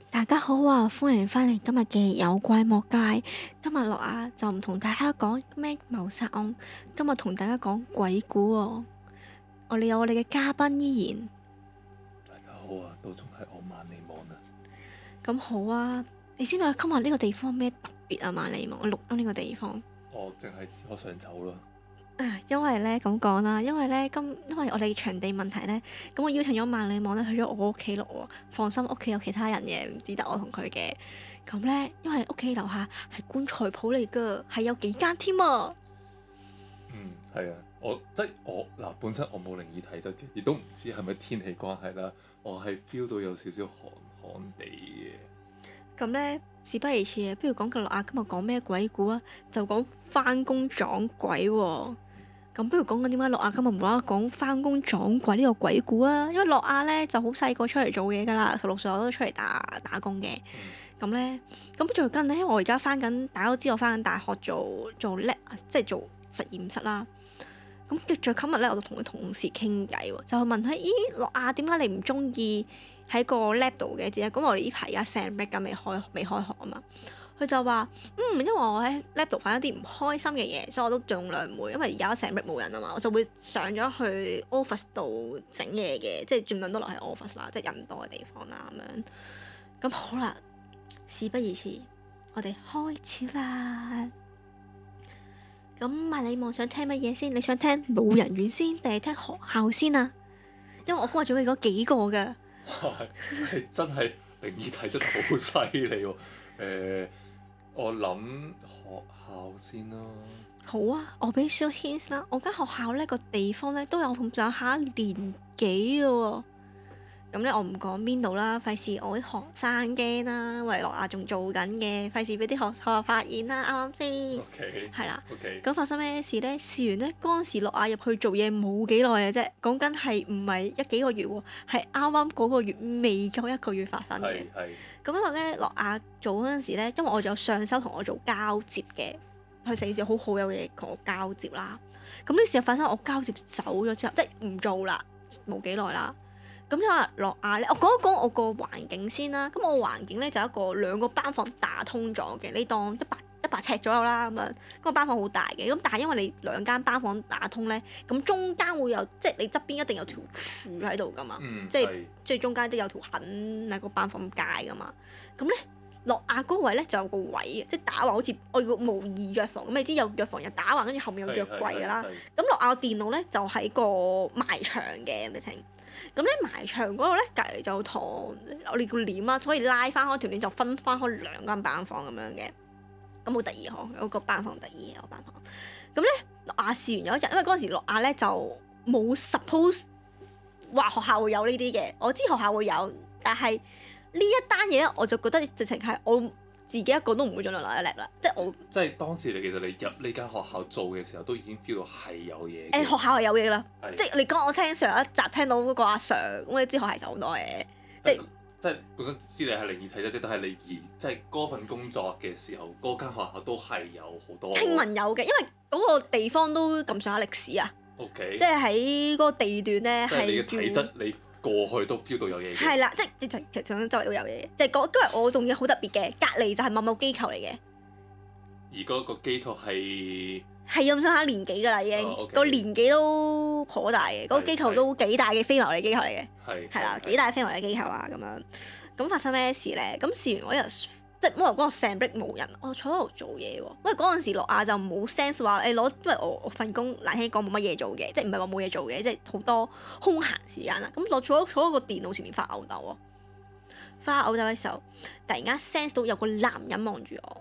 大家好啊，歡迎翻嚟今日嘅有怪莫怪。今日樂亞就唔同大家講咩謀殺案，今日同大家講鬼故喎。我哋有我哋嘅嘉賓依然。 大家好啊，都仲係我萬里望啊。 咁好啊，你知唔知今日呢個地方咩特別啊？萬里望，我錄咗呢個地方。 我淨係知我想走啦。 因為咧咁講啦，因為我哋場地問題咧，咁我邀請咗萬里望咧去咗我屋企錄喎。放心，屋企有其他人嘅，唔只得我同佢嘅。咁咧，因為屋企樓下係棺材鋪嚟噶，係有幾間添啊。 係啊，我本身我冇靈異體質嘅，亦都唔知係咪天氣關係啦。我係 feel 到有少少寒寒地嘅。 咁咧，事不宜遲，不如講個樂亞今日講咩鬼故啊？就講返工撞鬼喎。咁不如講緊點解樂亞今日無啦啦講返工撞鬼呢個鬼故啊？因為樂亞咧就好細個出嚟做嘢噶啦，16歲我都出嚟打工嘅。咁咧，咁最近咧，因為我而家大家都知我翻緊大學做 lab，即係做實驗室啦。咁最今日咧，我就同佢同事傾偈喎，就問佢：咦，樂亞點解你唔中意喺個 lab 度嘅？咁我哋呢排而家成 break 咁未開學啊嘛。佢就話：因為我喺 lab 度犯一啲唔開心嘅嘢，所以我都盡量唔會，因為而家成日冇人啊嘛，我就會上咗去 office 度整嘢嘅，即係盡量都留喺 office 啦，即係人多嘅地方啦咁樣。咁好啦，事不宜遲，我哋開始啦。咁萬里望想聽乜嘢先？你想聽老人院先定係聽學校先啊？因為我今日準備咗幾個㗎。 你真係靈異體質好犀利喎！我諗學校先啦。好啊，我俾少 hint 啦。我間學校呢個地方呢都有咁上下年紀嘅喎。咁咧我唔講邊度啦，費事我啲學生驚啦。喂，樂亞仲做緊嘅，費事俾啲學校發現啦，啱唔啱先？OK。係啦。OK。咁發生咩事呢？事緣呢，嗰陣時樂亞入去做嘢冇幾耐嘅啫，講緊係唔係幾個月喎？係啱啱嗰個月未夠1個月發生嘅。係。咁因為咧，樂亞做嗰陣時咧，因為我仲有上修同我做交接嘅，佢成件事好有嘢同我交接啦。咁呢事發生，我交接走咗之後，即係唔做啦，冇幾耐啦。咁因為樂亞咧，我講一講我個環境先啦。咁我環境咧就兩個班房打通咗嘅，你當100尺左右啦咁樣。嗰個班房好大嘅，咁但係因為你2間班房打通咧，咁中間會有即係你側邊一定有條柱喺度噶嘛，即係中間都有條痕喺個班房界噶嘛。咁咧樂亞嗰位咧就有個位嘅，即係打橫好似我個模擬藥房咁，你知有藥房有打橫，跟住後面有藥櫃噶啦。咁樂亞個電腦咧就喺個埋牆嘅咁嘅情。咁咧埋牆嗰度咧，隔離就堂我哋叫簾啦，所以拉翻開條簾就分翻開2間班房咁樣嘅。咁好得意呵，有個班房得意嘅個班房。咁咧樂亞試完有一日，因為嗰陣時樂亞咧就冇 suppose 話學校會有呢啲嘅，我知學校會有，但係呢一單嘢咧，我就覺得直情係我自己一個都唔會盡量留一叻啦，即係當時其實你入呢間學校做嘅時候，都已經 feel 到係有嘢。 學校係有嘢啦，即係你講我聽上一集聽到嗰個阿 Sir，咁你知學校係就好多嘢，即係本身知你係靈異體質，即係你即係嗰份工作嘅時候，嗰間學校都係有好多。聽聞有嘅，因為嗰個地方都咁上下歷史啊。OK。即係喺嗰個地段咧，係你嘅體質你過去都 feel 到有嘢嘅。係啦，即係其實周圍都有嘢，即係因為我仲嘢好特別嘅，隔離就係某機構嚟嘅。而嗰個機構係咁上下年紀㗎啦，已經個年紀都頗大嘅，嗰個機構都幾大嘅非牟利機構嚟嘅，係啦，幾大非牟利機構啊咁樣。咁發生咩事咧？咁試完嗰日，即係因為嗰個成 break 冇人，我坐喺度做嘢喎。因為嗰陣時樂亞就冇 sense 話因為我份工難聽講冇乜嘢做嘅，即係唔係話冇嘢做嘅，即係好多空閒時間啦。咁我坐喺個電腦前面發吽哣喎，發吽哣嘅時候，突然間 sense 到有個男人望住我。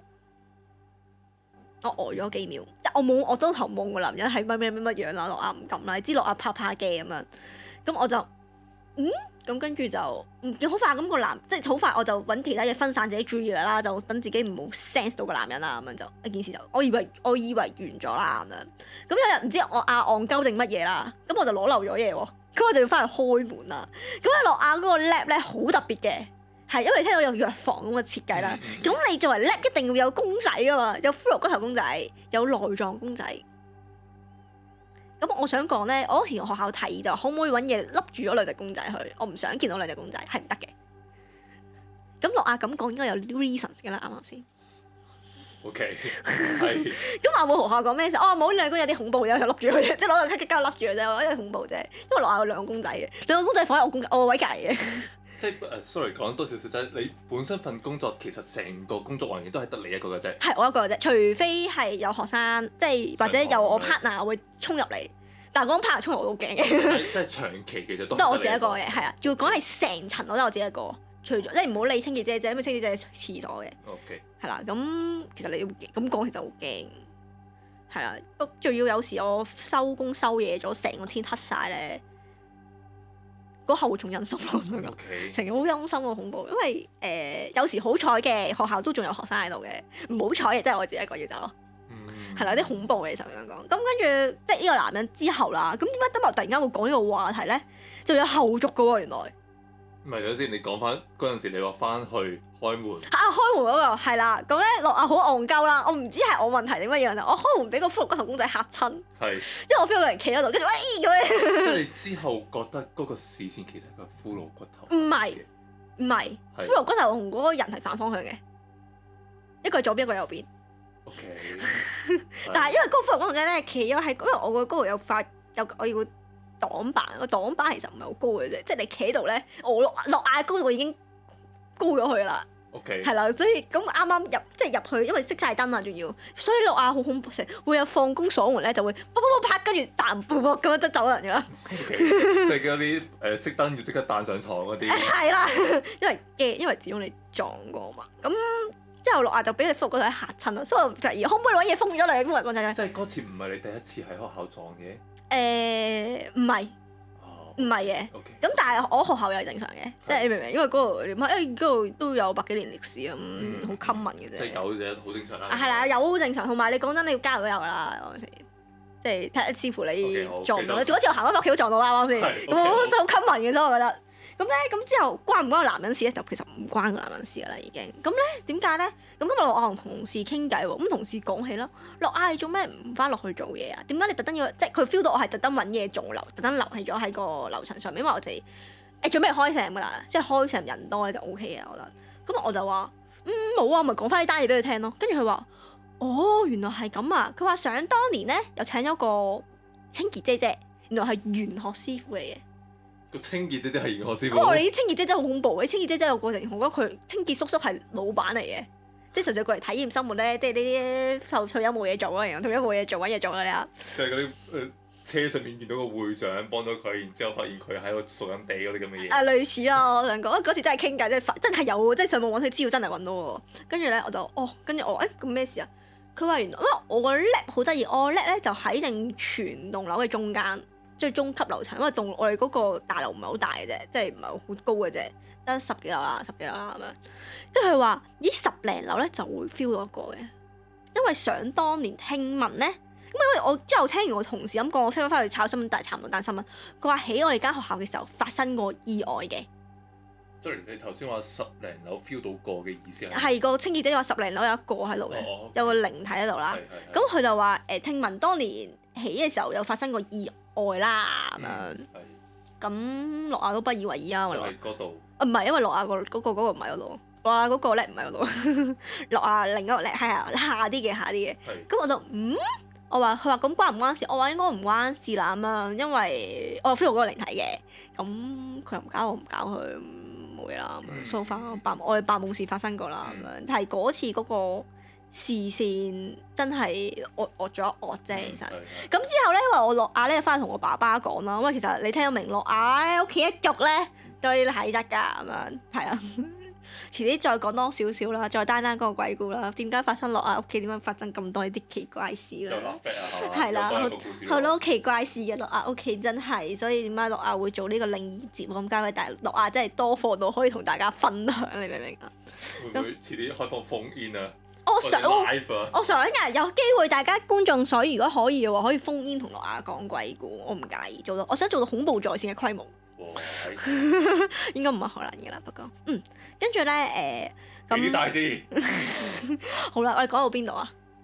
我呆咗幾秒，即係我周頭望個男人係乜樣啦，樂亞唔敢啦，你知樂亞怕嘅咁樣，咁我就咁跟住就好快咁個男，即係好快我就揾其他嘢分散自己注意力啦，就等自己唔好 sense 到個男人啦，咁樣就一件事就我以為完咗啦咁樣，咁有日唔知我戇鳩定乜嘢啦，咁我就攞漏咗嘢喎，咁我就要翻去開門啦，咁喺樂亞嗰個 lab 咧好特別嘅。係，因為你聽到有藥房咁嘅設計啦，咁你作為 lab 一定要有公仔噶嘛，有骷髏骨頭公仔，有內臟公仔。咁我想講咧，我嗰時學校提議就可唔可以揾嘢笠住咗兩隻公仔去，我唔想見到兩隻公仔，係唔得嘅。 咁諾亞咁講應該有啲 reasons 㗎啦，啱唔啱先？ OK， 係。 咁我冇學校講咩事，冇呢兩個有啲恐怖嘅，就笠住佢啫，即係攞個卡膠笠住佢啫，我覺得恐怖啫。因為諾亞有兩個公仔嘅，兩個公仔放喺我位隔離嘅。即係 sorry 講多少少啫，你本身份工作其實成個工作環境都係得你一個嘅啫。 係我一個嘅啫，除非係有學生，即係或者有我 partner 會衝入嚟，但係嗰種 partner 衝入我都驚嘅。 即係長期其實都係我自己一個嘅，係啊，要講係成層我都係我自己一個。除咗即係唔好理清潔姐姐，因為清潔姐姐廁所嘅。 OK。係啦，咁其實你要咁講，其實好驚。係啦，不仲要有時我收工收夜咗，成個天黑晒咧，嗰下會仲陰森咯。成日好陰森，好恐怖。因為有時好彩嘅學校都仲有學生喺度嘅，唔好彩嘅即係我自己一個要走咯。係啦，啲恐怖嘅就咁樣講。咁跟住即係呢個男人之後啦，咁點解今日突然間會講呢個話題咧？就有後續嘅喎，原來。 唔係，等先，你講翻嗰陣時，你話翻去開門。 開門嗰個係啦，咁咧諾亞好戇鳩啦，我唔知係我問題定乜嘢，我開門俾個骷髏骨頭公仔嚇親。係。因為我 feel 到人企喺度，跟住喂咁樣。 即係你之後覺得嗰個視線其實係個骷髏骨頭。 唔係，骷髏骨頭同嗰個人係反方向嘅，一個係左邊，一個係右邊。 OK。 但係因為嗰個骷髏骨頭仔咧企咗喺，因為我個高度有塊我要。擋板個擋板其實唔係好高嘅啫，即係你企喺度咧，我諾亞高度已經高咗去啦。 OK。 係啦，所以咁啱啱入去，因為熄晒燈啦，仲要，所以諾亞好恐怖，成會有放工鎖門咧，就會啪啪啪跟住彈噗噗咁樣就走人㗎啦。 OK。即係嗰啲熄燈要即刻彈上床嗰啲。 係啦，因為驚，因為始終你撞過嘛。咁之後諾亞就俾你骷髏骨頭嚇親啦，所以我就而可唔可以揾嘢封咗你骷髏骨頭？ 即係嗰次唔係你第一次喺學校撞嘅。 唔係嘅，咁但係我學校又係正常嘅，即係你明唔明？因為嗰度點解？因為嗰度都有100幾年歷史咁，好 common 嘅啫。 即係有啫，好正常啦。 係啦，有好正常，同埋你講真，你要加入都有啦，嗰陣時，即係睇視乎你撞唔到。嗰次我行翻屋企都撞到啦，啱啱先？咁好 common 嘅啫，我覺得。咁咧，咁之後關唔關個男人事咧？就其實唔關個男人事噶啦，已經。咁咧點解咧？咁今日諾亞同同事傾偈喎，咁同事講起啦，諾亞你做咩唔翻落去做嘢啊？點解你特登要即係佢 feel 到我係特登揾嘢做特登留喺咗喺個樓層上面，因為我哋準備開成噶啦，即係開成人多咧就 O K 嘅，我覺得。咁我就話冇啊，咪講翻呢單嘢俾佢聽咯。跟住佢話原來係咁啊！佢話想當年咧又請咗個清潔姐姐，原來係玄學師傅嚟嘅。 個清潔姐姐係玄學師傅。 我話你啲清潔姐姐好恐怖，啲清潔姐姐有過程，我覺得佢清潔叔叔係老闆嚟嘅，即係純粹過嚟體驗生活咧，即係呢啲退休冇嘢做啊，然後退休冇嘢做揾嘢做啊你啊！ 即係嗰啲車上面見到個會長幫咗佢，然之後發現佢喺度掃緊地嗰啲咁嘅嘢。類似啊，我想講嗰次真係傾偈，真係有，即係上網揾佢資料真係揾到喎。跟住咧我就跟住我咁咩事啊？佢話原來因為我個 lab 好得意，我 lab 咧就喺正全棟樓嘅中間。最中級樓層，因為我哋嗰個大樓唔係好大嘅啫，即係唔係好高嘅啫，得10幾樓啦咁樣。跟住佢話咦10零樓咧就會 feel 到一個嘅，因為想當年聽聞咧，咁因為我之後聽完我同事咁講，我出咗翻去炒新聞，但係查唔到單新聞。佢話喺我哋間學校嘅時候發生過意外嘅。 即係你頭先話10零樓 feel 到過嘅意思係？ 係個清潔姐話10零樓有一個喺度嘅，有個靈體喺度啦。咁佢就話聽聞當年起嘅時候有發生過意外啦咁樣，咁諾亞都不以為意啊。就係嗰度。唔係，因為諾亞嗰個唔係嗰度，諾亞嗰個咧唔係嗰度，諾亞另一個咧係下啲嘅。咁我就佢話咁關唔關事？我話應該唔關事啦咁樣，因為我 feel 到嗰個靈體嘅，咁佢又唔搞我唔搞佢，冇嘢啦。so far 我哋扮冇事發生過啦咁樣，但係嗰次嗰個視線真係惡咗一惡啫，其實。咁之後咧，因為我諾亞咧翻去同我爸爸講啦，因為其實你聽到明諾亞屋企一族咧都有啲體質㗎咁樣，係啊。遲啲再講多少少啦，再單嗰個鬼故啦，點解發生諾亞屋企點樣發生咁多啲奇怪事啦？係啦，好多奇怪事嘅諾亞屋企真係，所以點解諾亞會做呢個靈異節目咁解？但係諾亞真係多貨到可以同大家分享，你明唔明啊？ 會唔會遲啲開放phone in啊？ 我想㗎，有機會大家觀眾所如果可以嘅話，可以 phone in 同諾亞講鬼故，我唔介意做到。我想做到恐怖在線嘅規模。應該唔係可能嘅啦，不過跟住咧咁。幾大支？好啦，我哋講到邊度啊？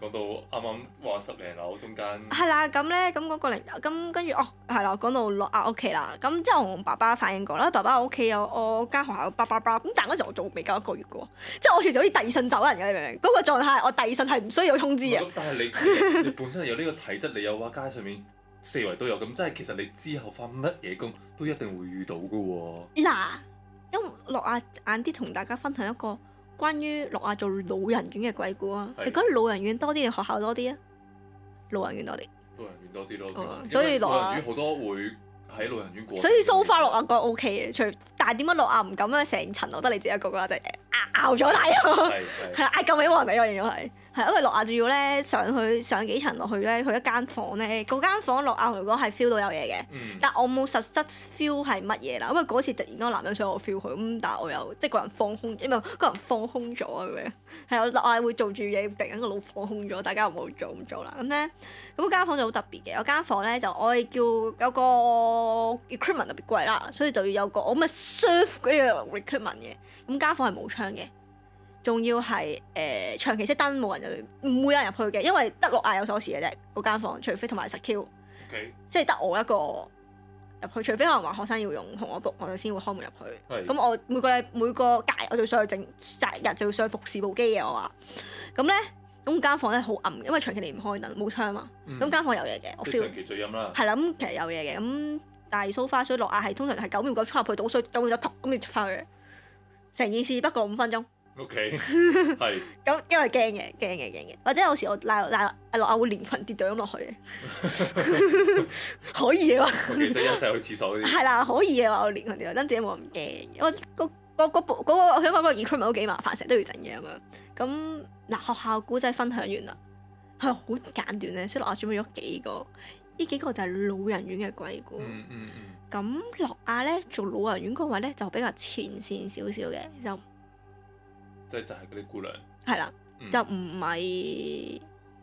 講到啱啱話10零樓中間。 係啦，咁咧咁嗰個零咁跟住係啦，講到落阿屋企啦。咁之後我同爸爸反映過啦，爸爸我屋企有我間學校有咁，但係嗰時我做未夠1個月嘅喎，即係我隨時好似遞信走人嘅，你明唔明？嗰個狀態我遞信係唔需要通知嘅。 但係你本身有呢個體質，你有話街上面四圍都有，咁即係其實你之後返乜嘢工都一定會遇到嘅喎。 嗱，因為樂亞晏啲同大家分享一個關於樂亞做老人院嘅鬼故啊！你覺得老人院多啲定學校多啲啊？老人院多啲。老人院多啲咯，所以老人院好多會喺老人院過。所以so far樂亞覺得 OK 嘅，但係點解樂亞唔敢咧？成層樓得你自己一個嘅，就係拗咗大咯。係啦，嗌救命王嚟，我形容係。係因為樂亞仲要咧上幾層落去咧，去一間房咧，嗰間房樂亞如果係 feel 到有嘢嘅，但我冇實質 feel 係乜嘢啦。因為嗰次突然間個男人想我 feel 佢，咁但係我又即係個人放空，因為個人放空咗咁樣。係我樂亞會做住嘢，突然間個腦放空咗，大家唔好做咁做啦。咁咧咁間房就好特別嘅，有間房咧就我哋叫有個 equipment 特別貴啦，所以就要有個我咪 serve 嗰啲 equipment 嘅。咁間房係冇窗嘅。仲要係長期熄燈，冇人就唔會有人入去嘅，因為得樂亞有鎖匙嘅啫，嗰間房，除非同埋secure，即係得我一個入去，除非可能話學生要用同我 book，我哋先會開門入去。咁我每個屆我就上去擇日就要上去服侍部機嘅我話。咁咧咁間房咧好暗，因為長期你唔開燈，冇窗嘛。咁間房有嘢嘅，我 feel。長期最陰啦。係啦，咁其實有嘢嘅，咁但係 so far 所以樂亞係通常係9秒9衝入去倒水，倒完就撲咁就出翻去，成件事不過5分鐘。OK， 係。咁因為驚嘅，或者有時我賴樂亞會連裙跌咗咁落去嘅，可以嘅話。即係一齊去廁所嗰啲。係啦，可以嘅話我連裙跌落，真自己冇咁驚，因為我想講嗰個 equipment 都幾麻煩，成日都要整嘢咁樣。咁嗱，學校古仔分享完啦，係好簡短咧，所以樂亞準備咗幾個，呢幾個就係老人院嘅鬼故。咁樂亞咧做老人院嗰位咧就比較前線少少嘅就。就係嗰啲姑娘，係啦，就唔係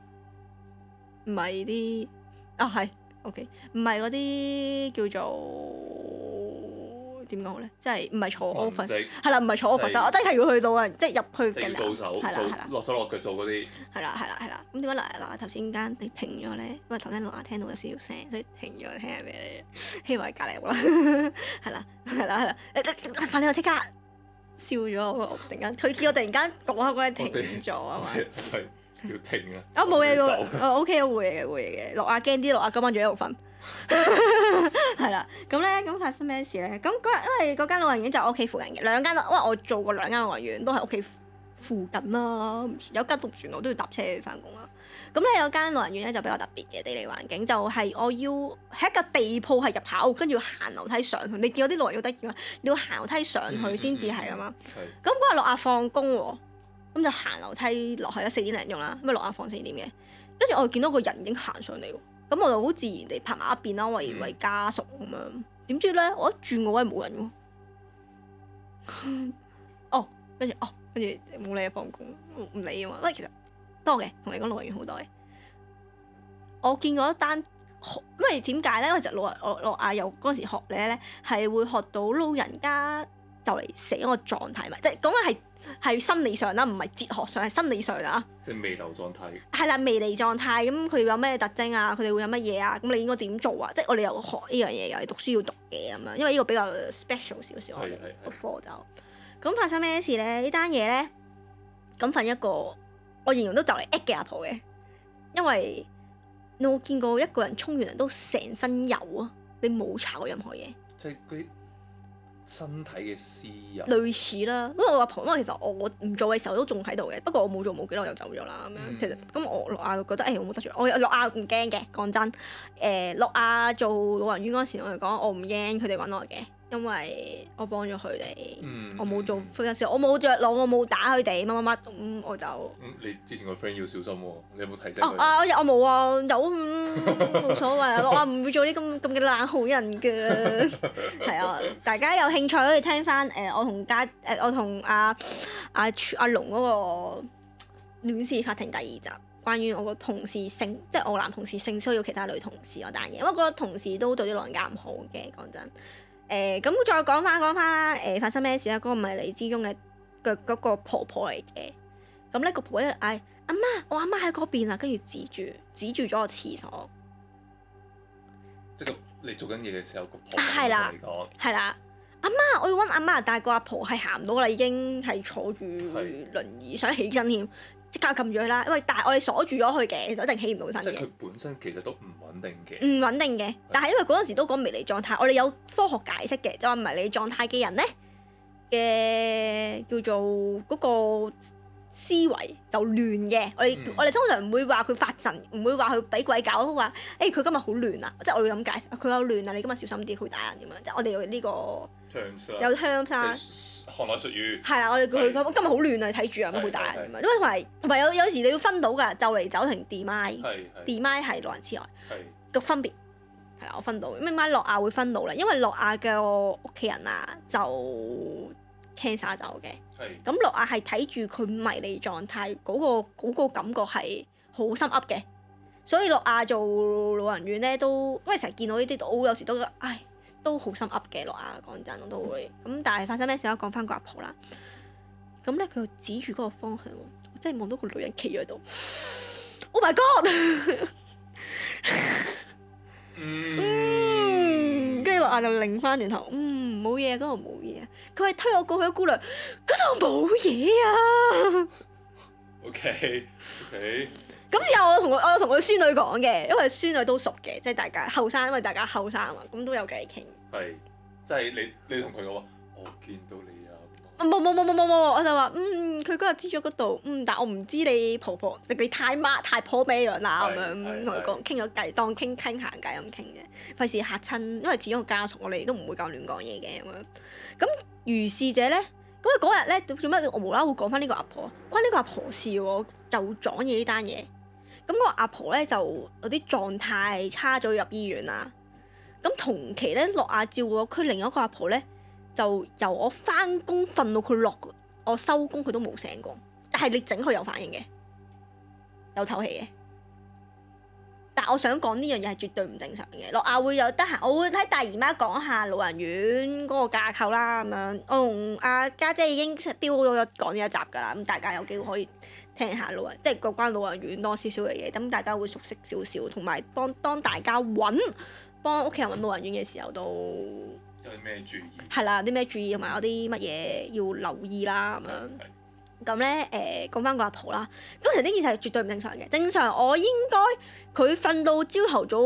啲係 OK， 唔係嗰啲叫做點講好咧？即係唔係坐 office，係啦，唔係坐 office，我真係要去到啊，即係入去嘅。做手，係啦，落手落腳做嗰啲。係啦，咁點解嗱頭先間你停咗咧？因為頭先樂亞聽到有少少聲，所以停咗聽下俾你，希望係隔離好啦。係啦，快啲我即刻。笑咗我突然間，佢叫我突然間講開嗰陣停咗啊嘛，係要停啊！啊冇嘢喎，OK 會嘅。樂亞驚啲，樂亞今晚仲喺度瞓，係啦。咁咧咁發生咩事咧？咁嗰日因為嗰間老人院就我屋企附近嘅兩間，因為我做過2間老人院，都係屋企附近啦。有間讀船我都要搭車去翻工啦。咁咧有間老人院咧就比較特別嘅地理環境，就係我要喺一個地鋪係入口，跟住行樓梯上去。你見到啲老人院好得意嘛？你要行樓梯上去先至係啊嘛。咁嗰日樂亞放工喎，咁就行樓梯落去啦，4點零鐘啦，咁啊樂亞放4點嘅，跟住我見到個人已經行上嚟喎，咁我就好自然地拍埋一邊啦，為家屬咁樣。點知咧我一轉個位冇人喎，跟住冇理啊，放工唔理啊嘛。喂，其實多嘅，同你講老人院好多嘅。我見過一單，因為點解咧？因為就樂亞有嗰陣時學咧係會學到老人家就嚟死嗰個狀態，咪即係講緊係心理上啦，唔係哲學上，係心理上啊。即係彌留狀態。係啦，彌離狀態，咁佢有咩特徵啊？佢哋會有乜嘢啊？咁你應該點做啊？即係我哋又學呢樣嘢，又係讀書要讀嘅咁樣，因為呢個比較 special 少少，我哋個課就。咁發生咩事咧？呢單嘢咧，咁瞓一個我形容都就嚟 at 嘅阿婆嘅，因為你有冇見過一個人沖完涼都成身油啊？你冇搽過任何嘢，即係嗰啲身體嘅屍油。類似啦，因為我阿婆，因為其實我唔做嘅時候都仲喺度嘅，不過我冇做冇幾耐又走咗啦咁樣。其實咁我樂亞就覺得我冇得罪，我樂亞唔驚嘅，講真。樂亞做老人院嗰時我嚟講，我唔驚佢哋揾我嘅。因為我幫咗佢哋，我冇做非法事，我冇着腦，我冇打佢哋乜咁我就。你之前個 friend 要小心喎，你有冇提醒佢？我冇啊，有冇所謂啊，我唔會做啲咁嘅冷好人嘅。係啊，大家有興趣可以聽翻我同阿龍嗰個戀事法庭第2集，關於我個同事即係我男同事性騷擾其他女同事嗰單嘢，因為嗰個同事都對啲老人家唔好嘅，講真。咁再講翻啦，發生咩事咧？嗰個迷離之中嘅嗰個婆婆嚟嘅，咁咧個婆婆咧， 阿媽，我阿媽喺嗰邊啊，跟住指住咗個廁所。 即係你做緊嘢嘅時候，個婆係啦， 嚟講係啦，阿媽，我要揾阿媽，但係個阿婆係行唔到啦，已經係坐住輪椅，想起身添，即刻撳住佢啦。因為但係我哋鎖住咗佢嘅，就一定起唔到身嘅。 即係佢本身其實都唔穩定嘅。 唔穩定嘅，但係因為嗰陣時都講迷離狀態，我哋有科學解釋嘅，就話迷離狀態嘅人咧嘅叫做嗰個思維就亂嘅。我哋通常唔會話佢發神，唔會話佢俾鬼搞，都話佢今日好亂啊，即係我會咁解釋，佢有亂啊，你今日小心啲，佢會打人咁樣，即係我哋有呢個 terms 有 terms 啦， 行內術語係啦，我哋叫佢今日好亂啊，你睇住啊，咁會打人咁樣，因為同埋有時你要分到㗎，就嚟走同 demise 係老人痴呆個分別係啦，我分到咩乜諾亞會分到咧，因為諾亞嘅屋企人啊就 cancer 走嘅，咁諾亞係睇住佢迷離狀態嗰個感覺係好心噏嘅，所以諾亞做老人院咧都因為成日見到呢啲，我有時都覺得都好心噏嘅。諾亞講真我都會咁，但係發生咩事咧？講翻個阿婆啦，咁咧佢指住嗰個方向，我真係望到個女人企喺度 ，Oh my God！ 跟住諾亞就擰翻轉頭，冇嘢，嗰度冇嘢。佢係推我過去，姑娘嗰度冇嘢啊。 OK。 咁之後我有同佢孫女講嘅，因為孫女都熟嘅，即係大家後生，因為大家後生啊嘛，咁都有偈傾。 係，即係你同佢講話，我見到你啊。 冇，我就話佢嗰日知咗嗰度，但我唔知你婆婆，你太婆咩樣啦咁樣，同佢講傾咗偈，當傾閒偈咁傾嘅，費事嚇親，因為始終個家屬我哋都唔會夠亂講嘢嘅咁樣。咁如是者咧，咁嗰日咧做咩我無啦啦會講翻呢個阿婆，關呢個阿婆事喎，就撞嘢呢單嘢。咁個阿婆咧就有啲狀態差咗入醫院啦。咁同期咧，諾亞照顧區另一個阿婆咧，就由我翻工瞓到佢落我收工，佢都冇醒過。但係你整佢有反應嘅，有唞氣嘅。但係我想講呢樣嘢係絕對唔正常嘅。諾亞會有得閒，我會睇大姨媽講下老人院嗰個架構啦咁樣。我同阿家姐已經標咗講呢一集㗎啦，咁大家有機會可以聽下即係嗰關老人院多少少嘅嘢，咁大家會熟悉少少，同埋當大家幫屋企人揾老人院嘅時候都有啲咩注意？係啦，有啲咩注意同埋有啲乜嘢要留意啦咁樣。咁咧講翻個阿婆啦，咁其實呢件事係絕對唔正常嘅。正常我應該佢瞓到朝頭早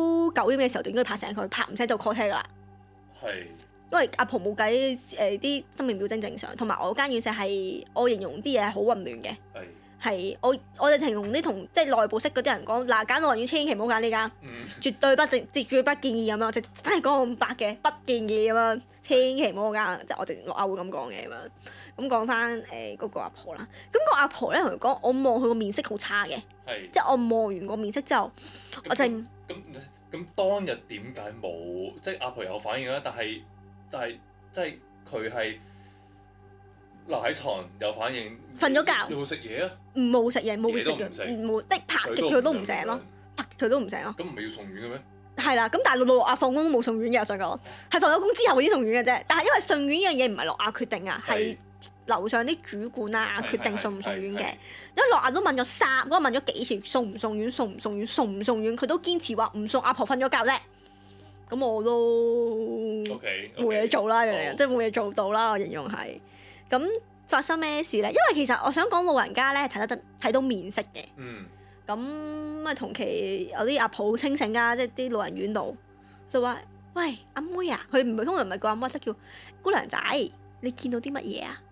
9點嘅時候就應該拍醒佢，拍唔醒就 call 車㗎啦。係。因為阿婆冇計啲生命表徵正常，同埋我間院舍係我形容啲嘢係好混亂嘅。係我哋形容啲即係內部識嗰啲人講，嗱，揀老人院千祈唔好揀呢間，絕對不建議咁樣，真係講咁白嘅，不建議咁樣，千祈唔好揀，即係我哋諾亞會咁講嘅咁樣。咁講翻嗰個阿婆啦，咁個阿婆咧同佢講，我望佢個面色好差嘅，即係我望完個面色之後，我就咁當日點解冇？即係阿婆有反應啦，但係即係佢係留喺床有反應， 瞓咗覺， 有冇食嘢啊？ 冇食嘢，冇食藥，冇即係拍極佢都唔醒咯，拍極佢都唔醒咯。 咁唔係要送院嘅咩？ 係啦，咁但係諾亞放工都冇送院嘅，我想講係放咗工之後先送院嘅啫。但係因為送院呢樣嘢唔係諾亞決定啊，係樓上啲主管啊決定送唔送院嘅。因為諾亞都問咗幾次送唔送院，佢都堅持話唔送。阿婆瞓咗覺啫。咁我都冇嘢做啦，即係冇嘢做到啦。我形容係咁發生咩事咧？因為其實我想講老人家咧睇到面色嘅。咁同期有啲阿婆好清醒㗎，即係啲老人院度就話：喂，阿妹啊，佢通常唔係叫阿妹，即係叫姑娘仔，你見到啲乜嘢啊？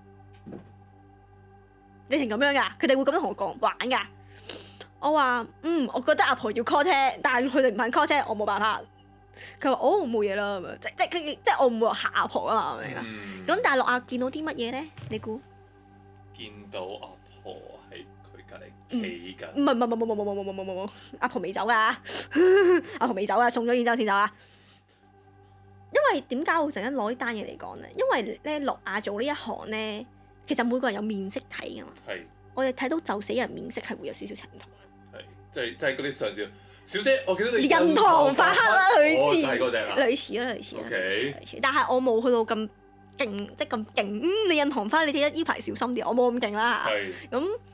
你成咁樣㗎？佢哋會咁樣同我講玩㗎。我話我覺得阿婆要 call 車，但係佢哋唔肯 call車，我冇辦法。佢話冇嘢啦咁樣，即係我唔會話嚇阿婆啊嘛，明唔明？咁但係諾亞見到啲乜嘢咧？你估？ 見到阿婆喺佢隔離企緊。 唔係，阿婆未走㗎，阿婆未走㗎，送咗院之後先走啊。因為點解我成日攞呢單嘢嚟講咧？因為咧諾亞做呢一行咧，其實每個人有面色睇㗎嘛。我哋睇到就死人面色係會有少少程度嘅。 即係嗰啲上司。小姐，我記得你印堂發黑啦，類似， 就係嗰隻啦， 類似啦，類似。但係我冇去到咁勁，即係咁勁。你印堂花，你睇得呢排小心啲，我冇咁勁啦嚇。咁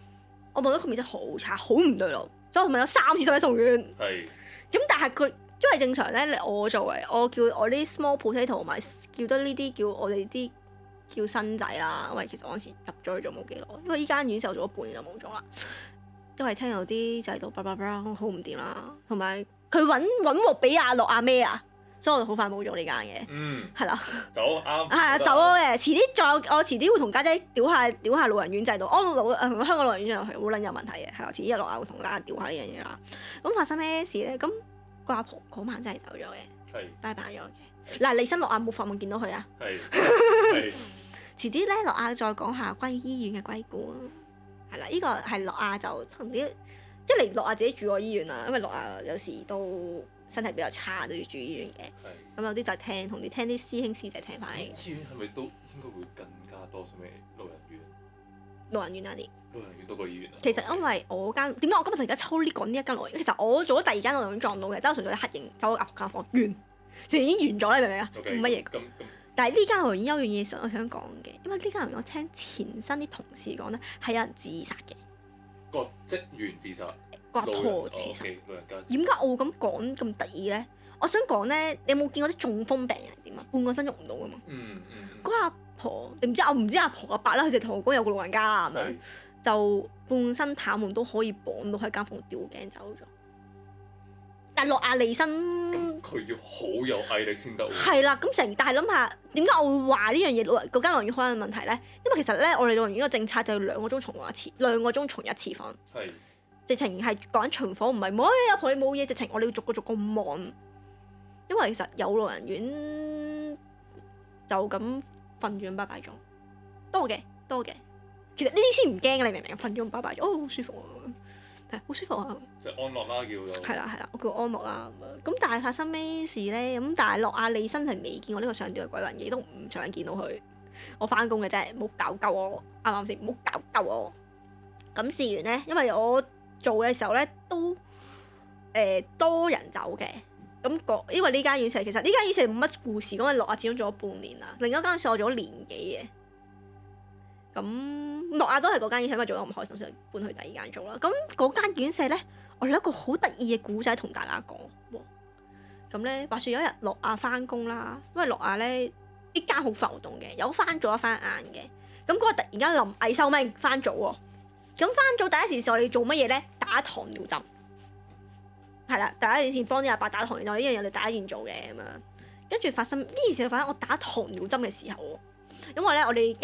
我望到佢面色好差，好唔對路，所以我問咗3次使唔使送院。 係。 咁但係佢因為正常咧，我作為我叫我啲 small potato 同埋叫得呢啲叫我哋啲叫新仔啦，因為其實我嗰時入咗去做冇幾耐，因為依間院舍做咗半年就冇咗啦，因為聽到啲制度好唔掂啦，同埋佢揾鑊俾阿樂阿咩啊，所以我就好快冇咗呢間嘅。係啦。 走啱。 係啊，走咗嘅。我遲啲會同家姐屌下老人院制度。香港老人院制度係好撚有問題嘅，係啦。遲啲落嚟會同家姐屌下呢樣嘢啦。咁發生咩事咧？咁個阿婆嗰晚真係走咗嘅， 係拜拜咗嘅。嗱，李生樂亞冇發夢見到佢啊。 係。 遲啲咧，樂亞再講下關於醫院嘅歸故啊。係啦，呢個係樂亞就同啲一嚟樂亞自己住過醫院啦，因為樂亞有時都身體比較差，都要住醫院嘅。咁有啲就係同啲師兄師姐聽翻嚟。 醫院係咪都應該會更加多什麼老人院？ 老人院啊啲。 老人院多過醫院啊。 Okay. 其實因為我間點解我今日而家抽呢講呢一間老人院？其實我做咗第2間老人院撞到嘅，都係純粹黑影走入間房完，就已經完咗啦，你明唔明啊？冇乜嘢。咁。但係呢間老人院有樣嘢我想講嘅，因為呢間老人院我聽前身啲同事講咧係有人自殺嘅。 個職員自殺。 個阿婆自殺。 老人家。 點解我會咁講咁得意咧？我想講咧，你有冇見過啲中風病人點啊？半個身喐唔到噶嘛。嗰阿婆，你唔知我唔知阿婆阿伯啦，佢就同我講有個老人家啦咁樣，就半身癱瘓都可以綁到喺間房吊頸走咗。但係樂亞離身， 咁佢要好有毅力先得喎。係啦，但係諗下點解我會話呢樣嘢嗰間老人院可能有問題咧？因為其實咧，我哋老人院個政策就要2個鐘重一次，2個鐘重一次房。係。直情係講緊巡房，唔係阿婆你冇嘢，直情我哋要逐個望。因為其實有老人院就咁瞓住咁拜拜咗，多嘅。其實呢啲先唔驚嘅，你明唔明？瞓住咁拜拜咗，好舒服啊，係好舒服啊。即係安樂啦，叫做。係啦，我叫安樂啦咁樣。咁但係發生咩事咧？咁但係樂亞利真係未見過呢個上吊嘅鬼魂，亦都唔想見到佢。我翻工嘅啫，唔好搞鳩我，啱唔啱先？唔好搞鳩我。咁事完咧，因為我做嘅時候咧都多人走嘅。咁因為呢間院舍其實呢間院舍冇乜故事，咁啊樂亞始終做咗半年啦，另一間院舍我做咗年幾嘅。咁樂亞都係嗰間院舍，因為做得唔開心，所以搬去第2間做啦。咁嗰間院舍咧，我有一個好得意嘅故仔同大家講。咁咧話説有一日樂亞翻工啦，因為樂亞咧呢間好浮動嘅，有翻早一翻晏嘅。咁嗰日突然間臨危受命翻早喎。咁翻早第一時我哋做乜嘢咧？打糖尿針。係啦，第一件事幫啲阿伯打糖尿針，呢樣嘢我哋第一件做嘅咁樣。跟住發生呢件事，發生我打糖尿針嘅時候喎。因為咧，我第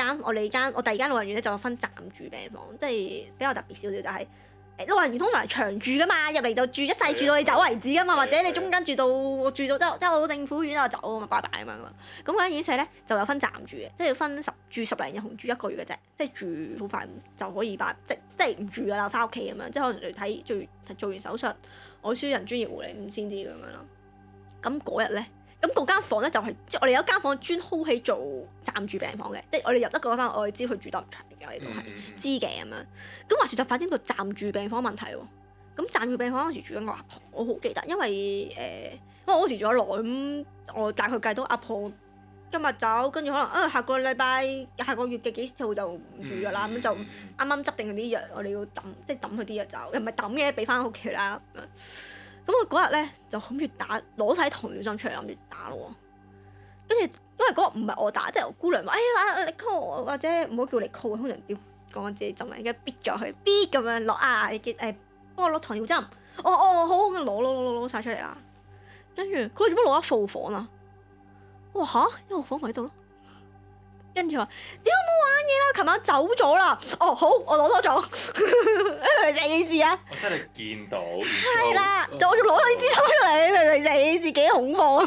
2間老人院咧就有分暫住病房，即係比較特別少少，就係老人院通常係長住噶嘛，入嚟就住一世，住到你走為止噶嘛，或者你中間住到即係政府院就走啊嘛，拜拜咁樣噶嘛。咁嗰間院舍咧就有分暫住嘅，即係要分住10零日同住1個月嘅啫，即係住好快就可以即係唔住噶啦，翻屋企咁樣，即係可能嚟睇做完手術，我需要人專業護理咁先啲咁樣咯。咁嗰日咧。咁嗰間房咧就係即係我哋有間房專 hold 起做暫住病房嘅，即係我哋入得嗰間房，我哋知佢住得唔長嘅，我哋都係知嘅咁樣。咁話説就發生個暫住病房問題喎。咁暫住病房嗰時住緊個阿婆，我好記得，因為我嗰時住咗耐，咁我大概計到阿婆今日走，跟住可能下個禮拜、下個月嘅幾號就唔住㗎啦，咁就啱啱執定佢啲藥，我哋要抌，即係抌佢啲藥走，又唔係抌嘅，俾翻屋企啦。咁我嗰日咧就諗住攞晒糖尿針出嚟諗住打咯喎，跟住因為嗰日唔係我打，即係我姑娘話：你 call 我，或者唔好叫你 call，通常屌講自己針嚟，而家逼咗佢，逼咁樣落你幫我攞糖尿針，好，攞晒出嚟啦。跟住佢做乜攞一副房啊？我話嚇，因為我房喺度咯。跟住話：屌冇玩嘢啦，琴晚走咗啦。好，我攞多咗。你明唔明成件事啊？我真係見到。係啦，就我仲攞咗啲資料出嚟，你明唔明成件事幾恐慌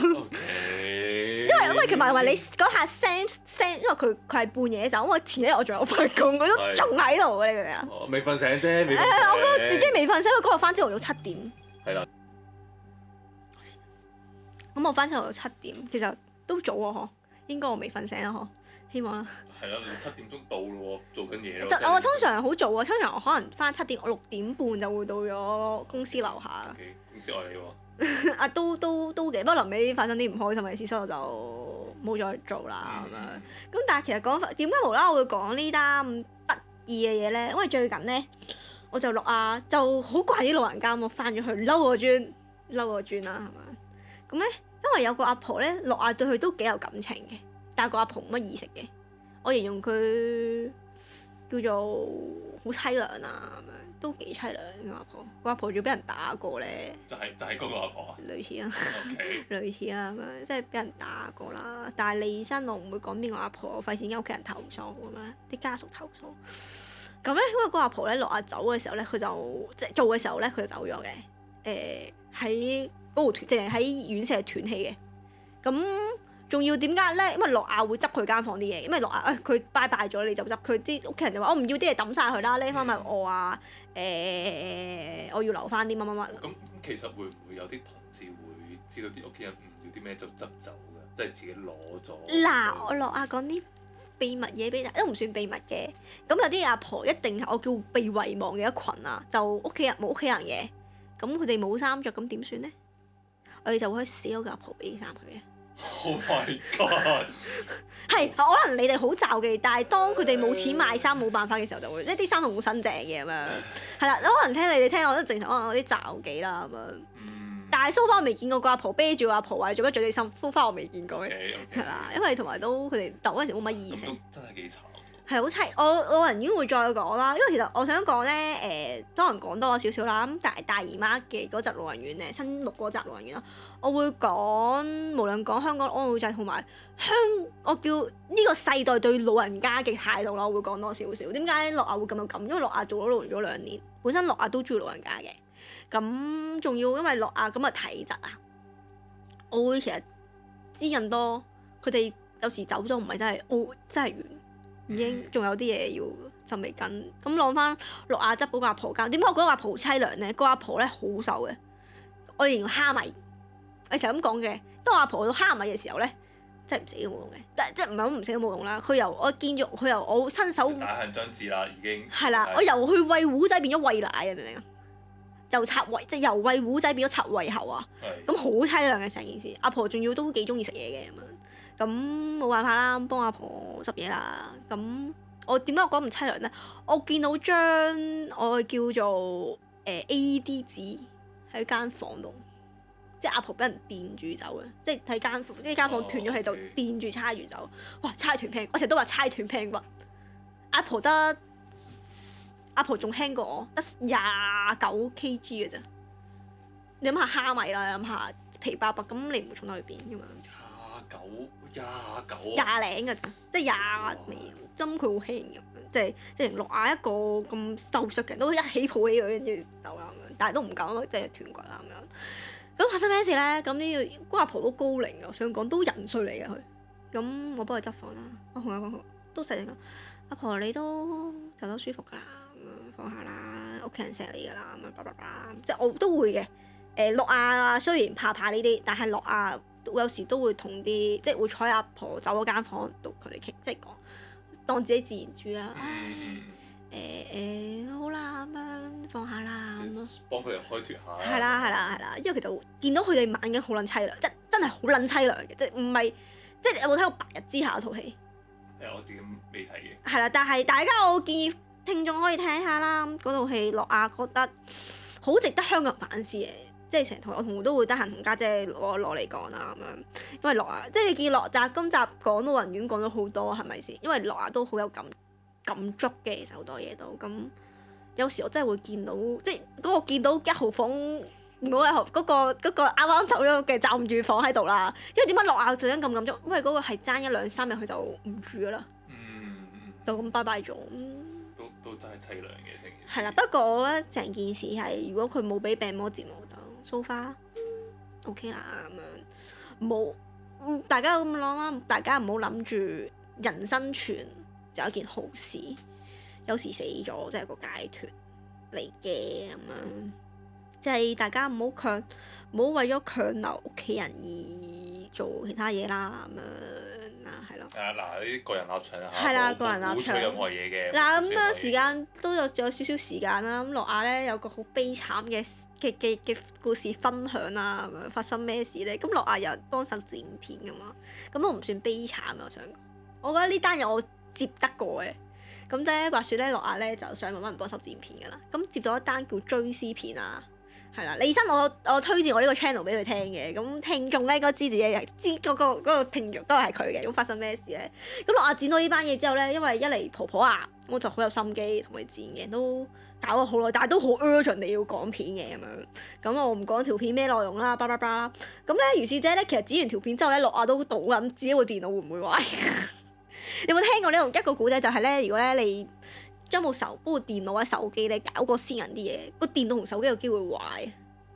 ？Okay. 因為其實你嗰下 send，因為佢係半夜走，我前一日我仲有翻工，佢都仲喺度嘅，你明唔明啊？未瞓醒啫，未瞓醒。我覺得自己未瞓醒，因為嗰日翻朝頭早7點。係啦。咁我翻朝頭早7點，其實都早啊，嗬？應該我未瞓醒啊，嗬？希望啦。係啦，你7點鐘到咯喎，做緊嘢咯。我通常好早啊，通常我可能翻7點，我6點半就會到咗公司樓下。Okay, 公司愛你喎。都嘅，不過臨尾發生啲唔開心嘅事，所以我就冇再做啦咁樣。咁但係其實講點解無啦啦我會講呢單咁得意嘅嘢咧？因為最近咧， 我就諾亞就好怪啲老人家，我翻咗去嬲個磚啦，係咪？咁咧，因為有個阿婆咧，諾亞對佢都幾有感情嘅，但係個阿婆冇乜意識嘅。我形容佢叫做好凄涼啊，咁樣都幾凄涼個阿婆。個阿婆仲要俾人打過咧。就係嗰個阿婆啊。 類似啊。 Okay. 類似啊，咁樣即係俾人打過啦。但係利申我唔會講邊個阿婆，我費事間屋企人投訴咁樣，啲家屬投訴。咁咧，因為個阿婆咧諾亞走嘅時候咧，佢就即係做嘅時候咧，佢就走咗嘅。喺嗰度斷，淨係喺院舍斷氣嘅。咁仲要點解咧？因為諾亞會執佢間房啲嘢，因為諾亞佢拜拜咗你就執，佢啲屋企人就話我唔要啲嘢抌晒佢啦，拎翻咪我啊我要留翻啲乜乜乜。 咁其實會唔會有啲同事會知道啲屋企人唔要啲咩就執走㗎？即係自己攞咗。 嗱，我諾亞講啲秘密嘢俾大家，都唔算秘密嘅。咁有啲阿婆一定係我叫被遺忘嘅一群啊，就屋企人冇屋企人嘅。咁佢哋冇衫着，咁點算咧？我哋就會死嗰個阿婆俾衫佢嘅。 Oh my god！ 係可能你哋好罩忌，但係當佢哋冇錢買衫冇辦法嘅時候，就會即係啲衫係好新淨嘅咁樣。係啦，可能聽你哋聽我都正常，可能有啲罩忌啦咁樣。但係 so far 我未見過個阿婆啤住個阿婆話做乜著你衫，so far 我未見過嘅。係啦，因為同埋都佢哋鬥嗰陣時冇乜意識。 咁都真係幾慘。 係好凄，我老人院會再講啦，因為其實我想講咧，多人講多咗少少啦。咁但係大姨媽嘅嗰集老人院咧，新錄嗰集老人院啦，我會講無論講香港安老制同埋我叫呢個世代對老人家嘅態度啦，我會講多少少。點解諾亞會咁有感？因為諾亞做咗老人咗2年，本身諾亞都中意老人家嘅。咁仲要因為諾亞咁嘅體質啊，我會其實知人多，佢哋有時走咗唔係真係真係完。已經仲有啲嘢要就未跟，咁攞翻諾亞執嗰個阿婆間。點解我覺得阿婆好凄涼咧？個阿婆咧好瘦嘅，我哋形容蝦米，我成日咁講嘅。當阿婆到蝦米嘅時候咧，真係唔死都冇用嘅，即係唔係唔死都冇用啦。佢由我見咗佢由我親手大限將至啦，已經係啦。我由佢餵糊仔變咗餵奶啊，明唔明啊？由插胃即係由餵糊仔變咗插胃喉啊！咁好凄涼嘅成件事。阿婆仲要都幾中意食嘢嘅咁樣。咁冇辦法啦，幫阿婆執嘢啦。咁我點解我講咁凄涼咧？我見到張我叫做AED 紙喺間房度，即係阿婆俾人電住走嘅，即係睇間房斷咗氣就電住叉住走。哇！叉斷屁，我成日都話叉斷屁骨。阿婆仲輕過我，得29 kg 嘅啫。你諗下蝦米啦，你諗下皮包白，咁你唔會重得去邊㗎嘛？29廿零嘅咋，即係廿尾針，佢好輕咁樣，即係諾亞一個咁瘦削嘅人都一起抱起佢，跟住走啦咁樣，但係都唔夠，即係斷骨啦咁樣。咁發生咩事咧？咁呢個阿婆都高齡嘅，我想講都人衰嚟嘅佢。咁我幫佢執房啦，我同佢講都細聲講，阿婆你都就得舒服㗎啦，咁樣放下啦，屋企人錫你㗎啦，咁樣叭叭叭，即係我都會嘅。諾亞雖然怕呢啲，但係諾亞有時都會同啲即係會坐喺阿婆走嗰間房度佢哋傾，即係講當自己自然住啦。好啦咁樣放下啦咁咯，幫佢哋開脫下。係啦，因為其實見到佢哋晚景好撚凄涼，即係真係好撚凄涼嘅，即係唔係即係你有冇睇過《白日之下》嗰套戲？我自己未睇嘅。係啦，但係大家我建議聽眾可以睇下啦，嗰套戲諾亞覺得好值得香港人反思嘅。即係成台我同都會得閒同家姐攞嚟講啦咁樣，因為諾亞即係你見諾亞今集講老人院講咗好多係咪先？因為諾亞都好有感觸嘅，其實好多嘢都咁。有時我真係會見到，即係嗰個見到1號房嗰個啱啱走咗嘅暫住房喺度啦。因為點解諾亞就咁感觸？因為嗰個係爭1、2、3日佢就唔住㗎啦，就咁拜拜咗。都真係凄涼嘅成件事。係啦，不過我覺得成件事係如果佢冇俾病魔折磨到。So far OK 啦咁樣，冇大家咁諗啦，大家唔好諗住人生存就係一件好事，有時死咗即係個解脫嚟嘅咁樣，即係大家唔好為咗強留屋企人而做其他嘢啦咁樣啊，係咯。嗱呢啲個人立場啊，係啦，個人立場。鼓吹任何嘢嘅。嗱咁樣時間都有少少時間啦，咁諾亞咧有個好悲慘嘅故事分享啦，咁樣發生咩事咧？咁諾亞有人幫手剪片噶嘛，咁都唔算悲慘啊！我想講，我覺得呢單嘢我接得過嘅， 咁即係話説咧，諾亞咧就想揾人幫手剪片㗎啦。咁接到一單叫追思片啊，係啦，李生我推薦我呢個 channel 俾佢聽嘅。咁聽眾咧應該知自己係知嗰個聽眾都係佢嘅。咁發生咩事咧？咁諾亞剪到呢班嘢之後咧，因為一嚟婆婆啊，我就好有心機同佢剪嘅，都搞咗好耐，但係都好 urgent 地要講片嘅咁樣。咁我唔講條片咩內容啦，叭叭叭啦。咁咧，如是者咧，其實剪完條片之後咧，諾亞都賭緊自己部電腦會唔會壞。有冇聽過呢個一個古仔？就係咧，如果咧你將部電腦或者手機咧搞過私人啲嘢，個電腦同手機有機會壞。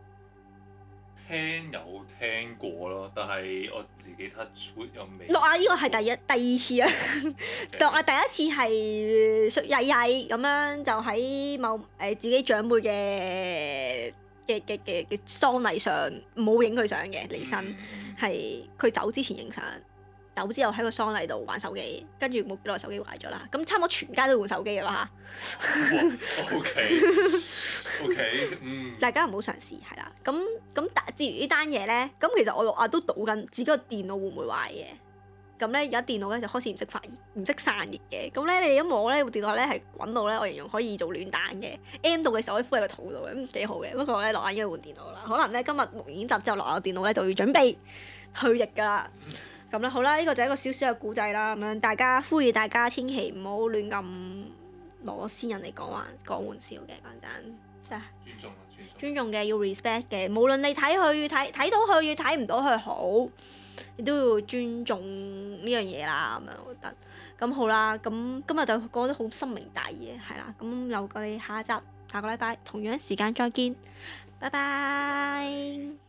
有聽過咯，但係我自己 touch wood 又未。 諾亞呢個係第二次啊！諾亞第一次係曳曳咁樣，就喺自己長輩嘅喪禮上冇影佢相嘅離身，係佢走之前影相。走之後喺個喪禮度玩手機，跟住冇幾耐手機壞咗啦。咁差唔多全家都換手機㗎啦嚇。OK， 大家唔好嘗試係啦。咁至於呢單嘢咧，咁其實我諾亞都賭緊自己個電腦會唔會壞嘅。咁咧而家電腦咧就開始唔識散熱嘅。咁咧你一摸咧部電腦咧係滾到咧，我形容可以做暖蛋嘅。M 到嘅時候可以敷喺個肚度嘅，咁幾好嘅。不過咧諾亞應該換電腦啦。可能咧今日錄完集之後，諾亞電腦咧就要準備退役㗎啦。咁啦，好啦，呢個就係一個小小嘅故仔啦，咁樣大家呼籲大家千祈唔好亂咁攞先人嚟講玩笑嘅，講真，真係尊重嘅要 respect 嘅，無論你睇到佢與睇唔到佢好，你都要尊重呢樣嘢啦，咁樣我覺得。咁好啦，咁今日就講得好深明大義，係啦，咁留我哋下個禮拜同樣時間再見，拜拜。